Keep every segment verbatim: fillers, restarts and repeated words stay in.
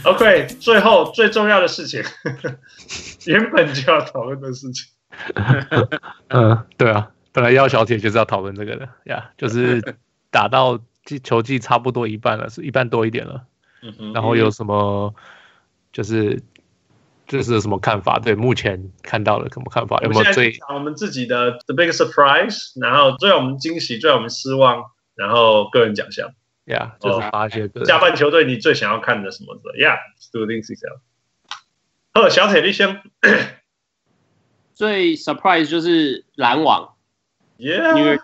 OK， 最後最重要的事情，原本就要討論的事情。 嗯，对啊，本來要小鐵就是要討論這個的呀， yeah, 就是打到球季差不多一半了，是一半多一點了。嗯哼，然後有什麼就是就是有什麼看法？對，目前看到的什麼看法？有沒有最我們自己的 the biggest surprise， 然後最讓我們驚喜，最讓我們失望，然後個人獎項。 Yeah， 就是發一些個人。 下半球隊你最想要看的什麼的 ？Yeah，do things yourself。好，小鐵你先。 最 surprise 就是籃網 ，Yeah，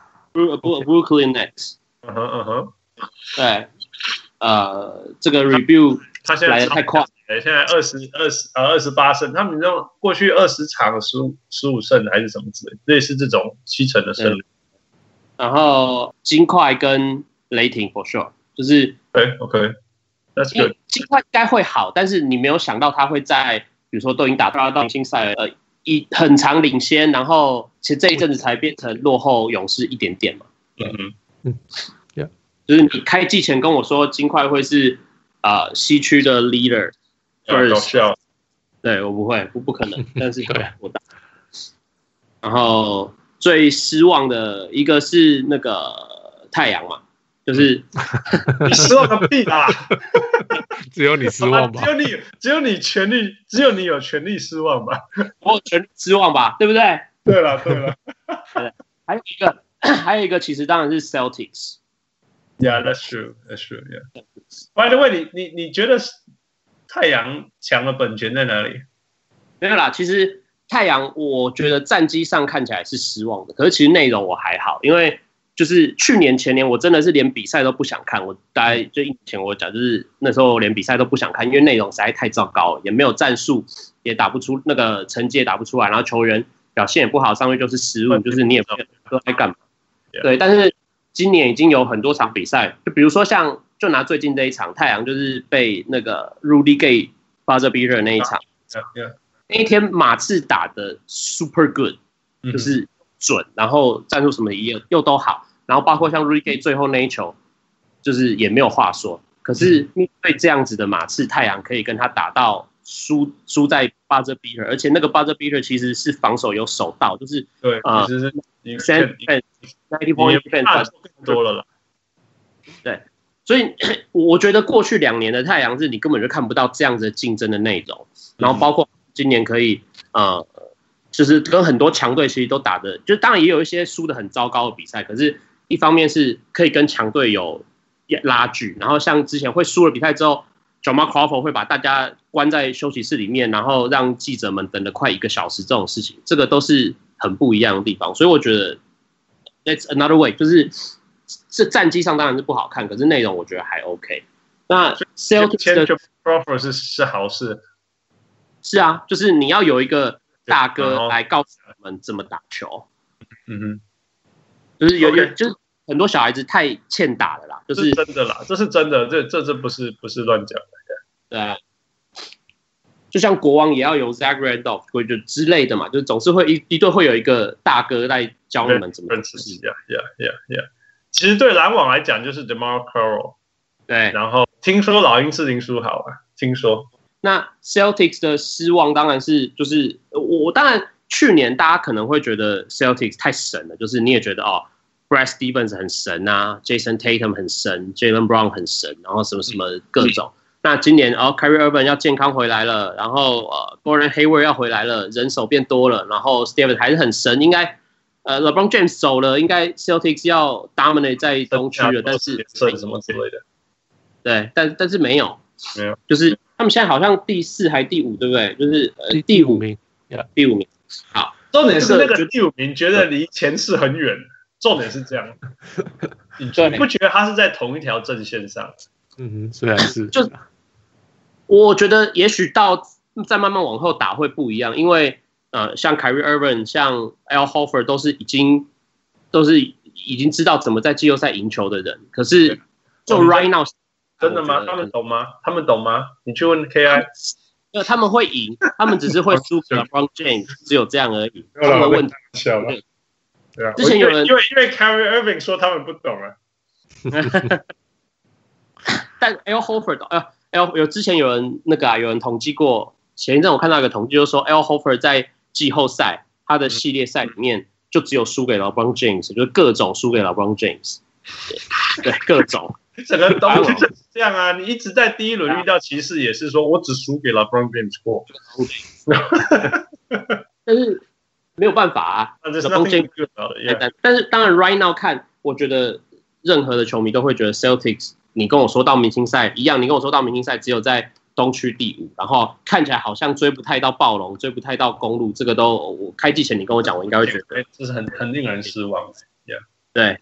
Brooklyn Nets。 嗯哼嗯哼。 對，呃，這個 review 他現在來得太快。 現在二十二十呃二十八勝，他們那種過去二十場十五十五勝還是什麼之類，類似這種七成的勝率。 然後金塊跟雷霆 for sure， 就是對 OK，That's good。 金塊應該會好，但是你沒有想到他會在，比如說都已經打到到明星賽了，呃，一很長領先，然後其實這一陣子才變成落後勇士一點點嘛。 嗯嗯嗯 ，Yeah， 就是你開季前跟我說金塊會是啊、呃、西區的 leader。 搞笑， 對我不會，不不可能，但是對我打。然後最失望的一個是那個太陽嘛，就是你失望個屁啦！ 只有你失望吧？ 只有你，只有你權利，只有你有權利失望吧？ 我有權利失望吧？對不對？ 對了，對了。 還有一個，還有一個，其實當然是 Celtics。 Yeah, that's true. That's true. Yeah. By the way， 你你你覺得？太陽強的本錢在哪裡？ 沒有啦，其實太陽我覺得戰績上看起來是失望的，可是其實內容我還好，因為就是去年前年我真的是連比賽都不想看，我大概就一年前我講就是那時候連比賽都不想看，因為內容實在太糟糕了，也沒有戰術，也打不出那個成績也打不出來，然後球員表現也不好，上面就是失誤，就是你也不知道在幹嘛。對，但是今年已經有很多場比賽，就比如說像。就拿最近這一場，太陽就是被那個 Rudy Gay buzzer beater 那一場， yeah, yeah. 那一天馬刺打的 super good， 就是準，然後戰術什麼也又都好，然後包括像 Rudy Gay 最後那一球，就是也沒有話說。可是面對這樣子的馬刺，太陽可以跟他打到輸輸在 buzzer beater， 而且那個 buzzer beater 其實是防守有守到，就是對， 呃， 其實是 ninety point defense 更多了啦， 對。所以我覺得過去兩年的太陽是你根本就看不到這樣子的競爭的內容，然後包括今年可以呃，就是跟很多強隊其實都打的，就當然也有一些輸的很糟糕的比賽，可是一方面是可以跟強隊有拉鋸，然後像之前會輸了比賽之後 ，Jamal Crawford 會把大家關在休息室裡面，然後讓記者們等了快一個小時這種事情，這個都是很不一樣的地方，所以我覺得 That's another way， 就是。這戰績上當然是不好看，可是內容我覺得還 OK。那 Celtics 的 Crawford 是是好事， 是啊，就是你要有一個大哥來告訴我們怎麼打球。 嗯哼， 就是有有、okay. 就是很多小孩子太欠打了啦，就是真的啦，這是真的，這這這不是不是亂講的。 對啊，就像國王也要有 Zach Randolph 或者之類的嘛，就是總是會一一隊會有一個大哥來教你們怎麼打。 Yeah, yeah, yeah, yeah。其實對籃網來講，就是 DeMar Carroll， 對。 然後聽說老鷹是林書豪啊，聽說。 那 Celtics 的失望當然是，就是我當然去年大家可能會覺得 Celtics 太神了，就是你也覺得哦 ，Brad Stevens 很神啊 ，Jason Tatum 很神 ，Jaylen Brown 很神，然後什麼什麼各種。嗯、那今年哦 ，Kyrie Irving 要健康回來了，然後呃 ，Gordon Hayward 要回來了，人手變多了，然後 Stevens 還是很神，應該。呃 ，LeBron James 走了，應該 Celtics 要 dominate 在東區了，但是什麼之類的， 對，但但是沒有， 沒有， 就是他們現在好像第四還第五，對不對？就是呃第五名，第五名。好， 重點是那個第五名覺得離前四很遠，重點是這樣，你不覺得他是在同一條陣線上？ 嗯哼，雖然是， 就我覺得也許到再慢慢往後打會不一樣，因為。呃，像 Kyrie Irving、像 Al Horford 都是已經都是已經知道怎麼在季後賽贏球的人，可是就 right now 真的嗎？他們懂嗎？他們懂嗎？你去問 K I， 呃，他們會贏，他們只是會輸給 LeBron James， 只有這樣而已。他們的問題小了，對啊， 之前有人因為因為 Kyrie Irving 說他們不懂啊， 但 Al Horford 呃 L 有之前有人那個啊，有人統計過，前一陣我看到一個統計，就是說 Al Horford 在季後賽他的系列賽裡面就只有輸給 LeBron James，就是各種輸給 LeBron James， 對，對各種。 整個東西就是這樣啊！你一直在第一輪遇到騎士，也是說我只輸給 LeBron James 過， 但是沒有辦法啊。LeBron James 但是當然 ，right now 看，我覺得任何的球迷都會覺得 Celtics， 你跟我說到明星賽一樣，你跟我說到明星賽只有在東區第五，然後看起來好像追不太到暴龍，追不太到公鹿，這個都我開季前你跟我講，我應該會覺得這是很很令人失望的。Yeah. 對。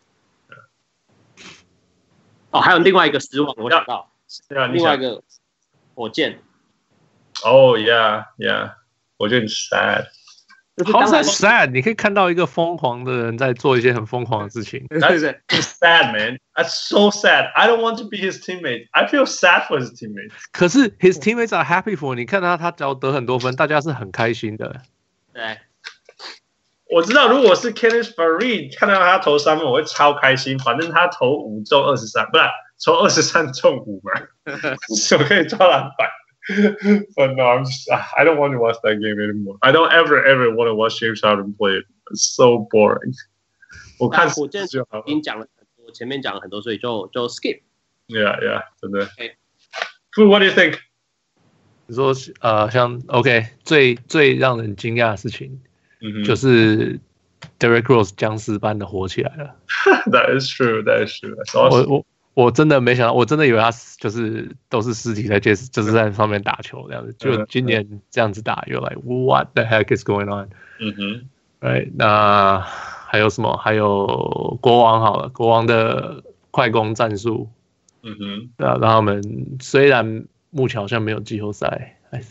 哦，還有另外一個失望，我想到，另外一個火箭。 哦、oh, ，Yeah, Yeah， 火箭 sad。 好 sad， 你可以看到一個瘋狂的人在做一些很瘋狂的事情。 That's sad, man. That's so sad. I don't want to be his teammate. I feel sad for his teammates. 可是 his teammates are happy for。你看他，他只要得很多分，大家是很開心的。 對。 我知道，如果是 Kenneth Faried 看到他投三分，我會超開心。反正他投五中二十三，不是投二十三中五嘛，我可以抓籃板。But no, I'm just, I don't want to watch that game anymore. I don't ever ever want to watch James Harden play it. It's so boring. 我看火箭就好了。已經講了很多，前面講了很多，所以就就 skip. Yeah, yeah， 真的。Okay. Food, what do you think? 你說呃，像 OK 最最讓人驚訝的事情。Mm-hmm. 就是 Derrick Rose 僵屍般的火起來了。 That is true. That is true. That's awesome. 我我我真的沒想到，我真的以為他就是都是屍體在街，就是在上面打球這樣子。就今年這樣子打，又 like what the heck is going on？ 嗯哼， right？ 那還有什麼？還有國王好了，國王的快攻戰術。 嗯哼， 對啊，讓他們雖然目前好像沒有季後賽 ，I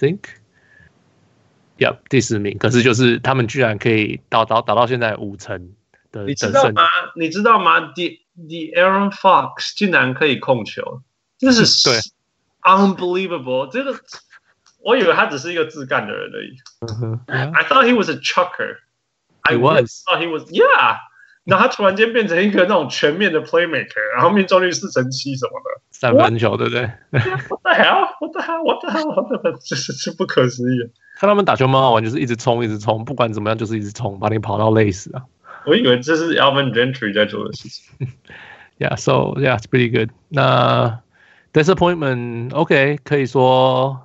think。Yep, 第十名，可是就是他們居然可以到到打到現在五成的， 你知道嗎？你知道嗎 ？The The Aaron Fox 竟然可以控球，這是對 unbelievable。這個我以為他只是一個自幹的人而已。 Uh-huh, yeah. I thought he was a chucker. He I was. thought he was. Yeah. 然後他突然間變成一個那種全面的 playmaker， 然後命中率四成七什麼的， 三分球對不對 ？What the hell? What the hell? What the hell? 這是是不可思議。 看他們打球蠻好玩，就是一直衝，一直衝，不管怎麼樣就是一直衝，把你跑到累死啊！ 我以為這是 Alvin Gentry 在做的事情。 Yeah, so yeah, it's pretty good. 那 disappointment, OK， 可以說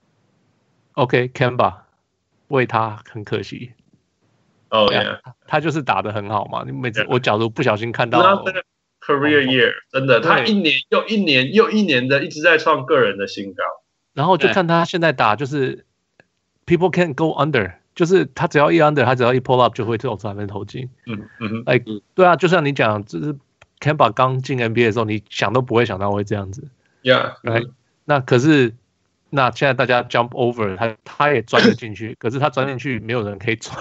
OK Kemba 為他很可惜。 哦、oh, yeah, 他就是打得很好嘛。你每次 yeah. 我假如不小心看到 career year， 真的，他一年又一年又一年的一直在創個人的新高。 然後就看他現在打，就是 people can't go under， 就是他只要一 under， 他只要一 pull up 就會投三分投進。 嗯嗯 like 對啊，就像你講，就是 Kemba 剛進 N B A 的時候，你想都不會想到會這樣子。 Yeah， right？、嗯、那可是。那現在大家 jump over， 他他也鑽了進去，可是他鑽進去沒有人可以鑽，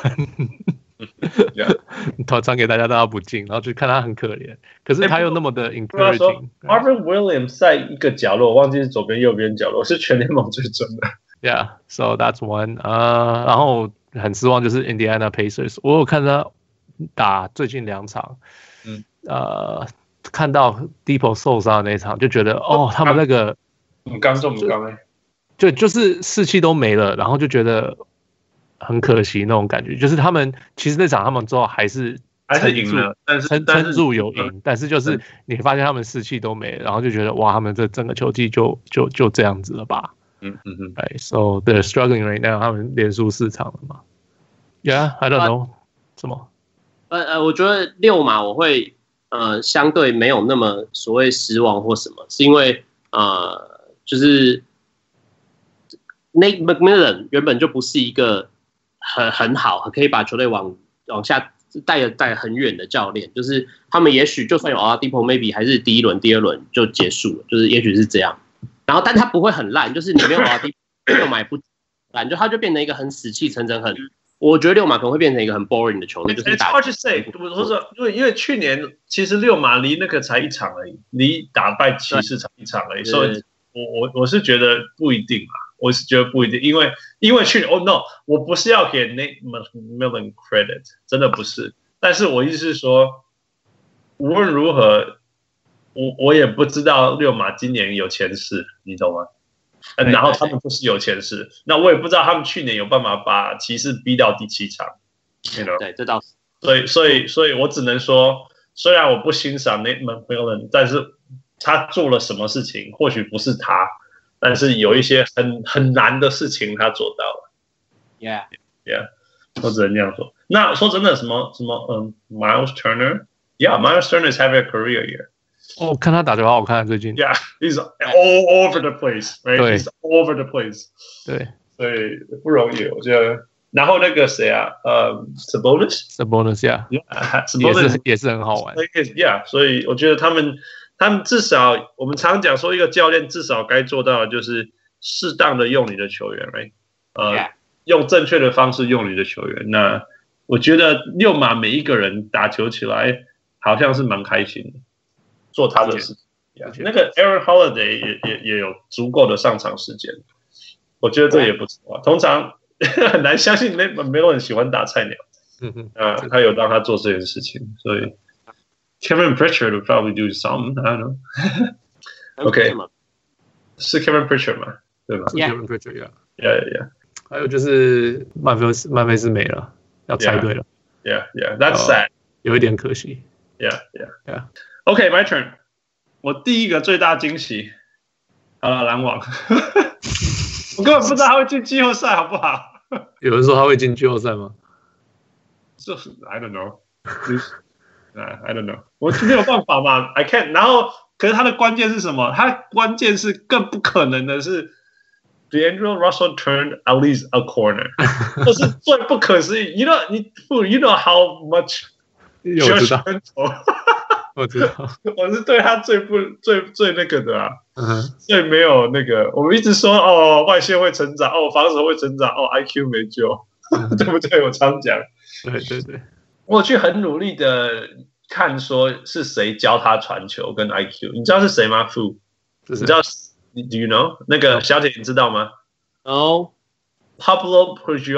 他傳給大家，大家不進，然後就看他很可憐。可是他又那麼的 encouraging。 Marvin Williams 在一個角落，我忘記是左邊右邊角落，是全聯盟最準的。 Yeah, so that's one 啊、uh, ，然後很失望就是 Indiana Pacers， 我有看他打最近兩場， 嗯， 呃，看到 Depot 受傷的那一場，就覺得哦，他們那個很剛重，很剛哎。 就就是士氣都沒了，然後就覺得很可惜那種感覺。就是他們其實那場他們之後還是還是贏了，但是撐撐住有贏，但是就是你發現他們士氣都沒了，然後就覺得哇，他們這整個球季就就就這樣子了吧？ 嗯嗯嗯。 Right, so they're struggling right now， 他們連輸四場了嘛 ？Yeah, I don't know，、啊、什麼？ 呃呃，我覺得六馬我會呃相對沒有那麼所謂失望或什麼，是因為呃就是。Nate McMillan 原本就不是一個很很好，可以把球隊往往下帶的帶很遠的教練。就是他們也許就算有 Oladipo maybe 還是第一輪、第二輪就結束了，就是也許是這樣。然後，但他不會很爛，就是你沒有 Oladipo 六馬也不爛，就他就變成一個很死氣沉沉、很我覺得六馬可能會變成一個很 boring 的球隊。就是打。 It's hard to say， 我說因為因為去年其實六馬離那個才一場而已，離打敗騎士才一場而已，所以我我我是覺得不一定啊。我是覺得不一定，因為因為去年哦、oh, no， 我不是要給 Nate McMillan credit， 真的不是。但是我意思是說，無論如何，我我也不知道溜馬今年有前世，你懂嗎？ 嗯，然後他們就是有前世。那我也不知道他們去年有辦法把騎士逼到第七場。You know? 對，這倒是。 所以，所以，所以我只能說，雖然我不欣賞 Nate McMillan，但是他做了什麼事情，或許不是他，但是有一些很很難的事情他做到了。 Yeah, yeah， 我只能這樣說。那說真的，什麼什麼，嗯 ，Miles Turner，Yeah，Miles Turner is having a career year。 哦，看他打球好好看，最近。 Yeah, he's all over the place, right? 對 He's all over the place. 對， 所以不容易，我覺得。然後那個誰啊，呃 ，Sabonis，Sabonis， yeah， 也是也是很好玩。 Yeah， 所以我覺得他們他們至少，我們常講說，一個教練至少該做到的就是適當的用你的球員，right？ 呃， yeah. 用正確的方式用你的球員。那我覺得六馬每一個人打球起來好像是蠻開心的。做他的事情， yeah, 那個 Aaron Holiday 也也也有足夠的上場時間，我覺得這也不錯啊。通常很難相信沒沒有人喜歡打菜鳥，嗯哼，啊，他有讓他做這件事情，所以 Kevin Pritchard would probably do some, I don't know. OK， 是 Kevin Pritchard 嗎？對吧？ 是 Kevin Pritchard， yeah, yeah, yeah. 還有就是曼菲斯曼菲斯沒了，要猜對了 ，Yeah, yeah, that's sad， 有一點可惜 ，Yeah, yeah, yeah.OK, my turn. 我第一個最大驚喜，好了，籃網。我根本不知道他會進季後賽，好不好？ 有人說他會進季後賽嗎？ 就是 I don't know. I don't know. 我沒有辦法嘛 ，I can't. 然後，可是他的關鍵是什麼？他的關鍵是更不可能的是 ，D'Angelo Russell turned at least a corner， 這是最不可思議。You know, 你 you know how much？ 我知道。我知道， 我是對他最不最最那個的啊， uh-huh. 最沒有那個。我們一直說哦，外線會成長，哦，防守會成長，哦 ，I Q 沒救， uh-huh. 對不對？我常講， 對對對， 我去很努力的看，說是誰教他傳球跟 I Q， 你知道是誰嗎？傅，你知道 ？Do you know？ 那個小姐你知道嗎？ 哦、 oh. ，Pablo Prigioni 。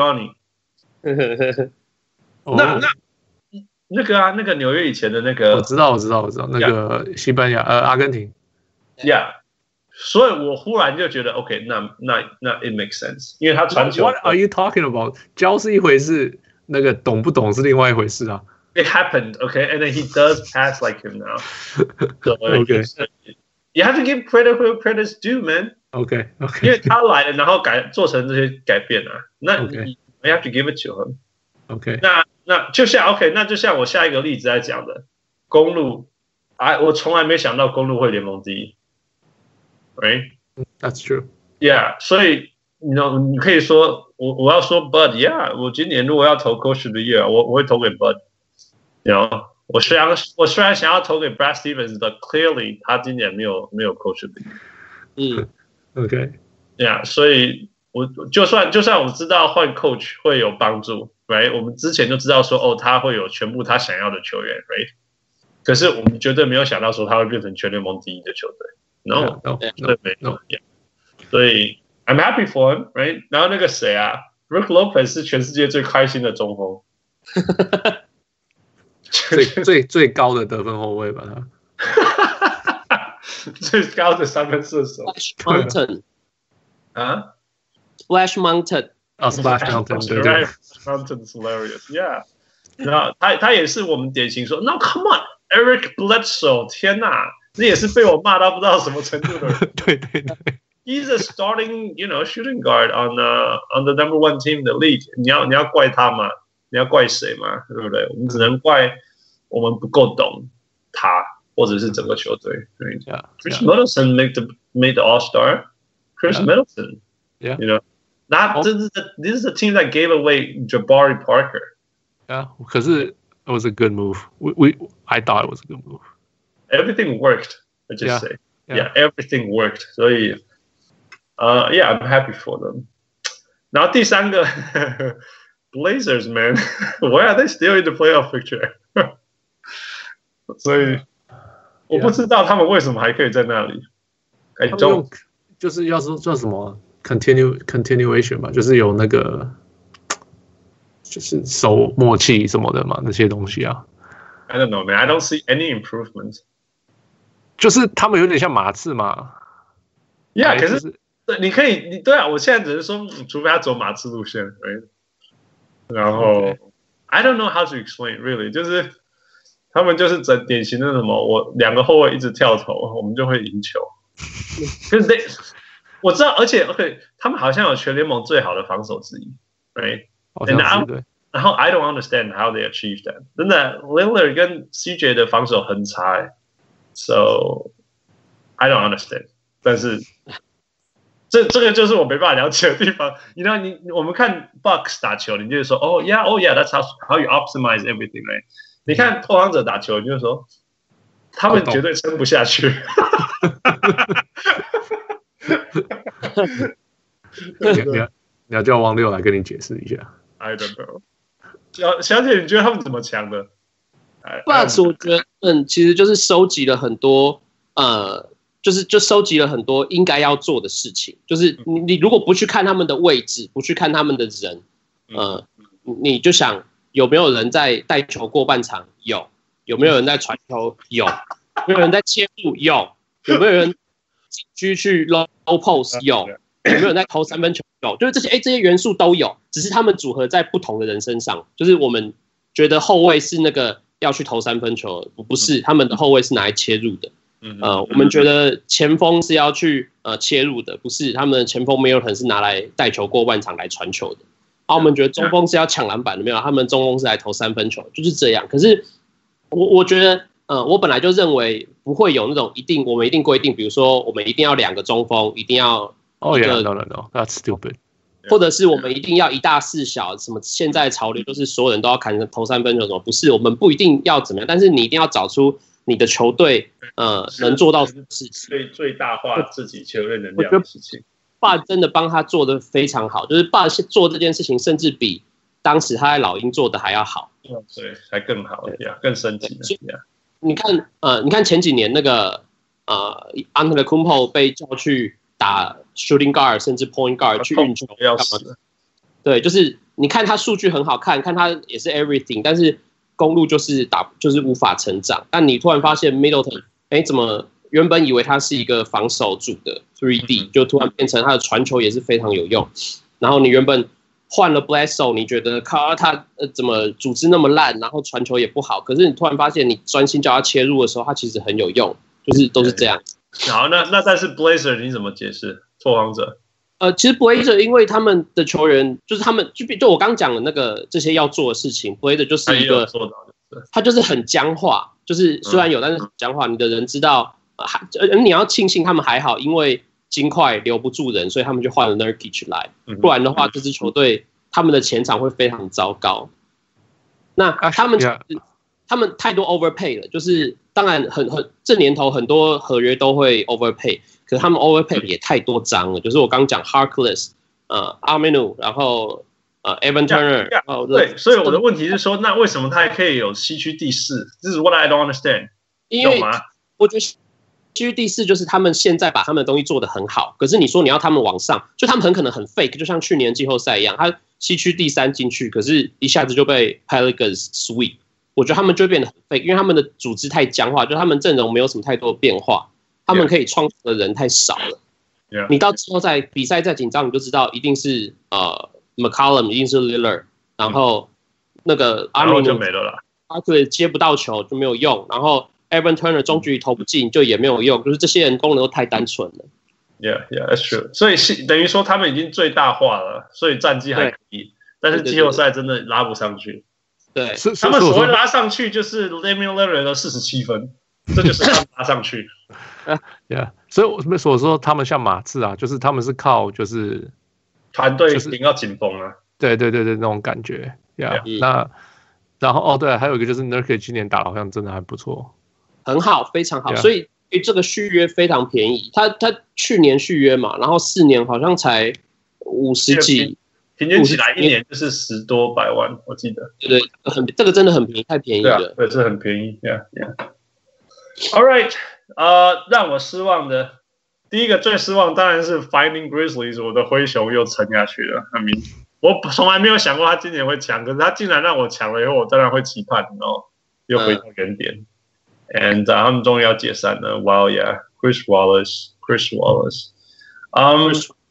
那那。那個啊，那個紐約以前的那個， 我知道，我知道，我知道，那個西班牙， yeah. 呃，阿根廷 ，Yeah， 所以我忽然就覺得 ，OK， 那那那 it makes sense， 因為他傳球。 What are you talking about？ 教是一回事，那個懂不懂是另外一回事啊。 It happened, okay, and then he does pass like him now. So, okay, you have to give credit where credit's due, man. Okay, okay. 因為他來了，然後改做成這些改變啊，那你 okay. you have to give it to him. Okay. 那那就像 OK， 那就像我下一個例子在講的，公路，哎，我從來沒想到公路會聯盟第一 ，right? That's true. Yeah， 所以你 know 你可以說我我要說 Bud，Yeah， 我今年如果要投 Coach of the Year， 我我會投給 Bud，you know， 我雖然我雖然想要投給 Brad Stevens， but clearly 他今年沒有沒有 Coach of the Year。 嗯 ，OK，Yeah， 所以我就算就算我知道換 Coach 會有幫助。Right， 我們之前就知道說，哦，他會有全部他想要的球員 ，Right？ 可是我們絕對沒有想到說他會變成全聯盟第一的球隊 ，No， no， 對沒有，所以 I'm happy for him，Right？ 然後那個誰啊 ，Brook Lopez 是全世界最開心的中鋒， 最最最高的得分後衛吧， 他最高的三分射手 ，Splash Mountain 啊 ，Splash Mountain。 Oh, Splash Mountain, 對對 Mountain is hilarious, yeah. 然後他他也是我們典型說 ，No, come on, Eric Bledsoe， 天哪，這也是被我罵到不知道什麼程度的人。 對對對 ，He's a starting, you know, shooting guard on the on the number one team in the league. 你要你要怪他嗎？你要怪誰嗎？對不對？我們只能怪我們不夠懂他，或者是整個球隊。對 yeah, Chris yeah. Middleton made the made the All Star. Chris yeah. Middleton, yeah. you know. Not, this is the this is the team that gave away Jabari Parker. Yeah, 可是 it was a good move. We we I thought it was a good move. Everything worked. I just yeah, say, yeah. yeah, everything worked. 所以，呃、uh, ，Yeah, I'm happy for them. 然後第三個 Blazers, man, why are they still in the playoff picture? 所以我不知道他們為什麼還可以在那裡。I don't. 就是要說叫什麼？Continue continuation 嘛，就是有那個，就是守默契什麼的嘛，那些東西啊。 I don't know, man. I don't see any improvement. 就是他們有點像馬刺嘛。 Yeah， 可是對，你可以，你對啊，我現在只是說，除非他走馬刺路線，然後、okay. I don't know how to explain really， 就是他們就是整典型的什麼，我兩個後衛一直跳投，我們就會贏球。可是 they, 我知道，而且 OK， 他們好像有全聯盟最好的防守之一 ，right？ 然後 I don't understand how they achieve that。真的 ，Lillard 跟 C J 的防守很差、欸、，so I don't understand。但是這這個就是我沒辦法了解的地方。你知道，你我們看 Bucks 打球，你就會說，哦、oh, yeah，oh yeah，that's how how you optimize everything，right？ 你看拓荒者打球，你就說，他們絕對撐不下去。 你要你要叫王六來跟你解釋一下。 I don't know。小小姐，你覺得他們怎麼強的 ？Bucks 我覺得，嗯，其實就是收集了很多，呃，就是就收集了很多應該要做的事情。就是你你如果不去看他們的位置，不去看他們的人，呃，你就想有沒有人在帶球過半場？有。有沒有人在傳球？有。有沒有人在切入？有。有沒有人禁區去 low post？ 有。有沒有人在投三分球？有，就是這些，哎，這些元素都有，只是他們組合在不同的人身上。就是我們覺得後衛是那個要去投三分球，不是，他們的後衛是拿來切入的。呃，我們覺得前鋒是要去呃切入的，不是，他們的前鋒沒有可能是拿來帶球過半場來傳球的。啊，我們覺得中鋒是要搶籃板的，沒有，他們中鋒是來投三分球，就是這樣。可是我我覺得，呃，我本來就認為不會有那種一定，我們一定規定，比如說我們一定要兩個中鋒，一定要。 Oh yeah, no, no, no, that's stupid. 或者是我們一定要一大四小，什麼現在潮流就是所有人都要砍投三分球，什麼不是？我們不一定要怎麼樣，但是你一定要找出你的球隊呃能做到什麼事情， 最最大化自己球隊能量的事情。 爸真的幫他做得非常好，就是爸做這件事情，甚至比當時他在老鷹做的還要好。 對，還更好，對呀，更升級。 你看，呃，你看前幾年那個呃 Antetokounmpo 被叫去打 shooting guard 甚至 point guard 去運球幹嘛的？對，就是你看他數據很好看，看他也是 everything， 但是公路就是打就是無法成長。但你突然發現 Middleton， 哎，怎麼原本以為他是一個防守組的 three D， 就突然變成他的傳球也是非常有用。然後你原本換了 Bledsoe， 你覺得靠他呃怎麼組織那麼爛，然後傳球也不好，可是你突然發現你專心叫他切入的時候，他其實很有用，就是都是這樣。 好，那那但是 Blazer 你怎麼解釋？拓荒者？ 呃，其實 Blazer 因為他們的球員就是他們就就我剛講的那個這些要做的事情 ，Blazer 就是一個他就是很僵化，就是雖然有，嗯、但是很僵化。你的人知道，呃，你要慶幸他們還好，因為金塊留不住人，所以他們就換了 Nurkic 來，不然的話，這支球隊他們的前場會非常糟糕。那他們、啊、他們太多 overpay 了，就是當然很很這年頭很多合約都會 overpay。可是他們 overpay 也太多張了，就是我剛講 Harkless， 呃 Aminu， 然後呃 Evan Turner， yeah, yeah, 對，所以我的問題是說，那為什麼他還可以有西區第四？這是 what I don't understand。 因為我覺得西區第四就是他們現在把他們的東西做得很好，可是你說你要他們往上，就他們很可能很 fake， 就像去年季後賽一樣，他西區第三進去，可是一下子就被 Pelicans sweep， 我覺得他們就會變得很 fake， 因為他們的組織太僵化，就他們陣容沒有什麼太多的變化。他們可以創造的人太少了。 Yeah. 你到之後在比賽再緊張，你就知道一定是呃 McCollum， 一定是 Lillard， 然後那個阿米就沒了啦，他對接不到球就沒有用，然後 Evan Turner 中距離投不進就也沒有用，就是這些人功能都太單純了。 Yeah, yeah, that's true. 所以是等於說他們已經最大化了，所以戰績還可以，但是季後賽真的拉不上去。 對， 他們所謂拉上去就是 Damian Lillard 的四十七分。這就是他們拉上去 ，yeah， 所以我所說他們像馬刺啊，就是他們是靠就是團隊頂到緊繃啊， 對對對對，那種感覺，yeah, yeah. 那然後哦對，還有一個就是 Nurkic 今年打好像真的還不錯， 很好，非常好， yeah. 所以這個續約非常便宜，他他去年續約嘛，然後四年好像才五十幾， 平均起來一年就是十多百萬，我記得， 對對，很這個真的很便宜，太便宜了， 對，這很便宜 ，yeah yeah。All right， 呃，讓我失望的第一個最失望當然是 Finding Grizzlies， 我的灰熊又沉下去了。I mean， 我從來沒有想過他今年會強，可是他竟然讓我強了以後，我當然會期盼，然後又回到原點。嗯、And、uh, 他們終於要解散了。Wow yeah，Chris Wallace，Chris Wallace，嗯、um,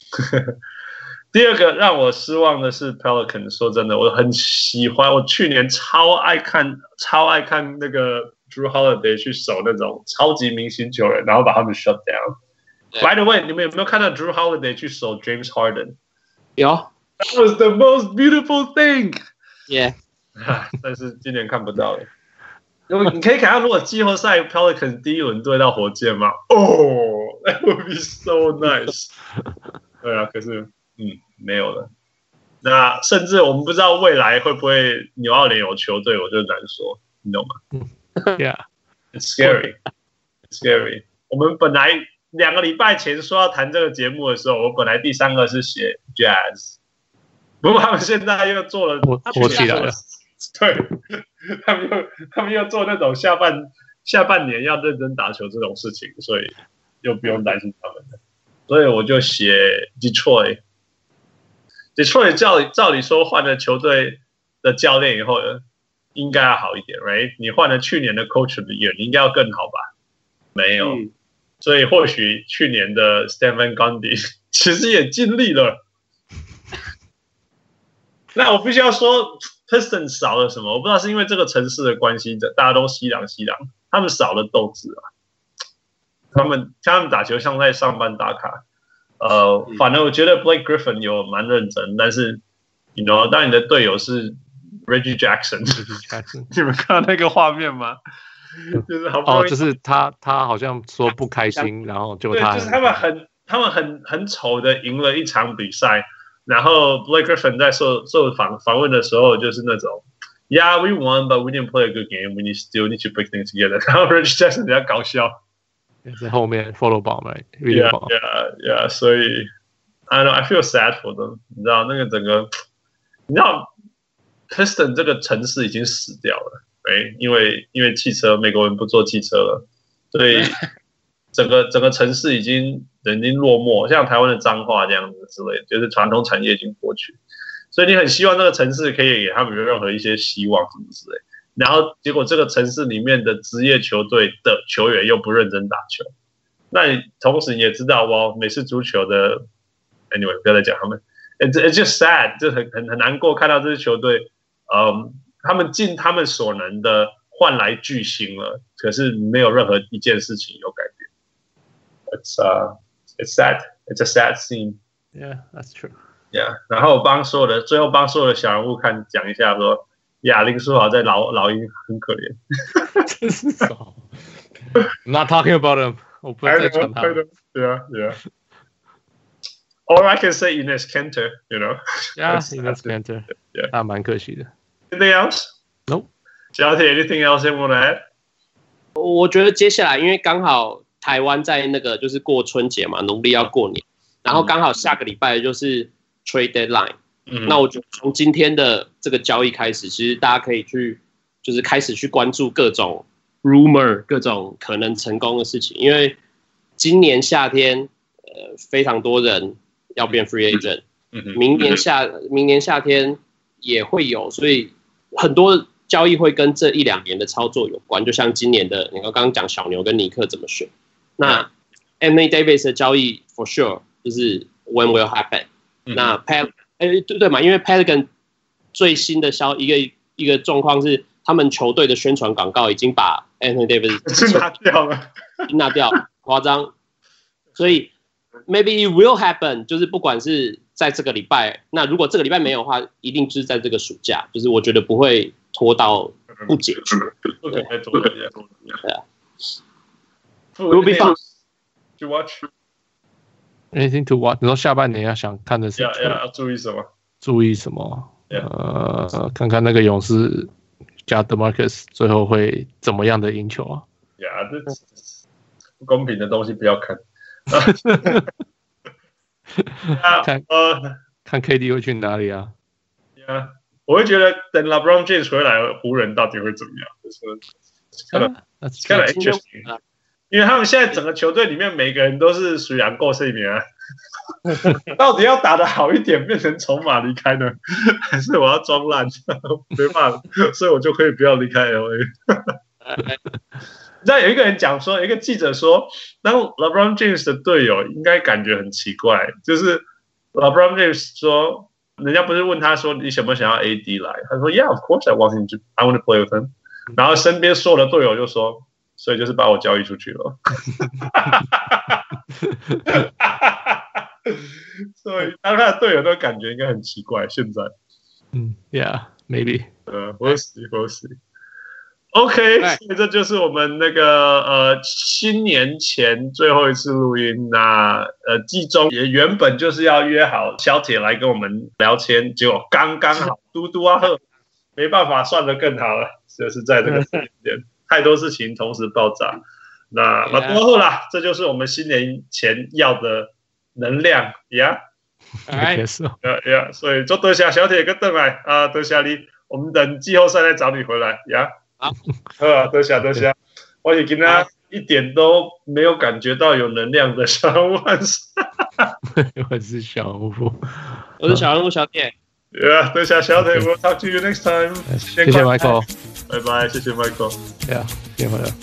第二個讓我失望的是 Pelicans。說真的，我很喜歡，我去年超愛看，超愛看那個 Drew Holiday 去守那種超級明星球員，然後把他們 shut down。By the way， 你們有沒有看到 Drew Holiday 去守 James Harden？ 有。 That was the most beautiful thing. Yeah. 但是今年看不到了。你可以看到，如果季後賽 Pelicans 第一輪對到火箭嗎？哦、oh, ，That would be so nice 。對啊，可是嗯沒有了。那甚至我們不知道未來會不會紐奧良有球隊，我就難說，你懂嗎 ？Yeah, it's scary, it's scary。我們本來兩個禮拜前說要談這個節目的時候，我本來第三個是寫 Jazz， 不過他們現在又做了， 火起來了。 對，他們又他們又做那種下半下半年要認真打球這種事情，所以又不用擔心他們了。所以我就寫 Detroit。Detroit 照照理說換了球隊的教練以後，應該要好一點 ，right？ 你換了去年的 Coach of the Year， 你應該要更好吧？沒有，嗯、所以或許去年的 Stan Van Gundy 其實也盡力了。那我必須要說。Pistons 少了什麼？我不知道是因為這個城市的關係，大家都西洋西洋，他們少了鬥志啊。他們他們打球像在上班打卡，呃，反而我覺得 Blake Griffin 有蠻認真，但是 ，you know， 當你的隊友是 Reggie Jackson， 你們看到那個畫面嗎？就是好不容易， 哦，就是他他好像說不開心，然後就他， 對，就是他們很他們很很醜的贏了一場比賽。然後 Blake Griffin 在受受訪訪問的時候，就是那種 ，Yeah, we won, but we didn't play a good game. We need still need to put things together. 然後 Reggie Jackson 比較搞笑， 在後面 follow ball 嘛 ，Yeah, yeah, yeah. 所以 I know I feel sad for them. 你知道那個整個，你知道 Piston 這個城市已經死掉了，哎，因為因為汽車美國人不坐汽車了，所以整個整個城市已經。人已經落寞，像台灣的彰化這樣子之類的，就是傳統產業已經過去，所以你很希望這個城市可以給他們有任何一些希望什麼之類的。然後結果這個城市裡面的職業球隊的球員又不認真打球，那你同時你也知道，哇，美式足球的 ，anyway 不要再講他們 ，it's it's just sad，就很很很難過看到這支球隊，嗯，他們盡他們所能的換來巨星了，可是沒有任何一件事情有改變。It's uh.It's sad. It's a sad scene. Yeah, that's true. Yeah. 然後我幫所有的最後幫所有的小人物看講一下說，亞林書豪在老老鷹很可憐。 真是少。I'm not talking about him. 我不會再傳他。 Yeah, yeah. Or I can say Enes Kanter, you know. Yeah, Enes Kanter. Yeah, 那蠻可惜的。 Anything else? No. 小鐵 anything else you want to add? 我覺得接下來因為剛好。台灣在那個就是過春節嘛，農曆要過年，然後剛好下個禮拜就是 trade deadline。嗯，那我覺得從今天的這個交易開始，其實大家可以去就是開始去關注各種 rumor， 各種可能成功的事情，因為今年夏天呃非常多人要變 free agent， 明年夏明年夏天也會有，所以很多交易會跟這一兩年的操作有關，就像今年的你剛剛講小牛跟尼克怎麼選。那 Anthony Davis 的交易 for sure 就是 when will happen、嗯。那 Pel 哎對對嘛，因為 Pelican 最新的消一個一個狀況是，他們球隊的宣傳廣告已經把 Anthony Davis 拿掉了， 拿掉誇張。所以 maybe it will happen， 就是不管是在這個禮拜，那如果這個禮拜沒有的話，一定就是在這個暑假，就是我覺得不會拖到不解決。對，對啊。Will be fun to watch. Anything to watch? 你說下半年要想看的是？ 要要注意什麼？ 注意什麼？ Yeah. 呃，看看那個勇士加 DeMarcus 最後會怎麼樣的贏球啊？ 呀，這不公平的東西不要看。 看呃，看 K D 會去哪裡啊？ 呀、yeah. ，我會覺得等 LeBron James 回來，湖人到底會怎麼樣？就是看了。That's kind of interesting， 因為他們現在整個球隊裡面每個人都是屬於夠睡眠啊，到底要打得好一點變成籌碼離開呢，還是我要裝爛？沒辦法，所以我就可以不要離開 L A。你知道有一個人講說，一個記者說，當 LeBron James 的隊友應該感覺很奇怪，就是 LeBron James 說，人家不是問他說你想不想要 A D 來？他說 Yeah, of course I want him to. I want to play with him. 然後身邊所有的隊友就說，所以就是把我交易出去了。所以當他的隊友都感覺應該很奇怪。現在， 嗯 ，Yeah, maybe. 呃，我死，我死。OK， 所以這就是我們那個呃新年前最後一次錄音。那呃季中也原本就是要約好小鐵來跟我們聊天，結果剛剛好嘟嘟啊呵，沒辦法算得更好了，就是在這個時間點太多事情同時爆炸。那那多後啦，這就是我們新年前要的能量呀。 哎， 呀呀，所以就多謝小鐵跟鄧來啊，多謝你，我們等季後賽再找你回來呀。 好， 好，多謝多謝，我也跟他一點都沒有感覺到有能量的小人物漢斯， 我是小人物， 我是小人物小鐵。 Yeah， 多謝小鐵 ，We'll talk to you next time。 謝謝 Michael， 拜拜，謝謝 Michael。 Yeah， 謝謝回來。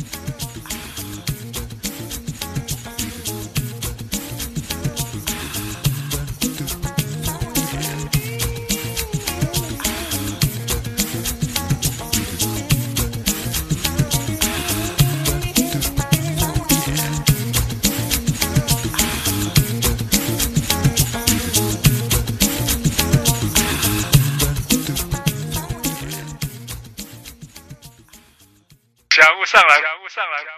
小人物上來，小人物上來。